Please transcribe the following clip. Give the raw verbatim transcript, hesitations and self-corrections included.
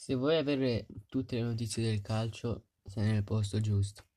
Se vuoi avere tutte le notizie del calcio, sei nel posto giusto.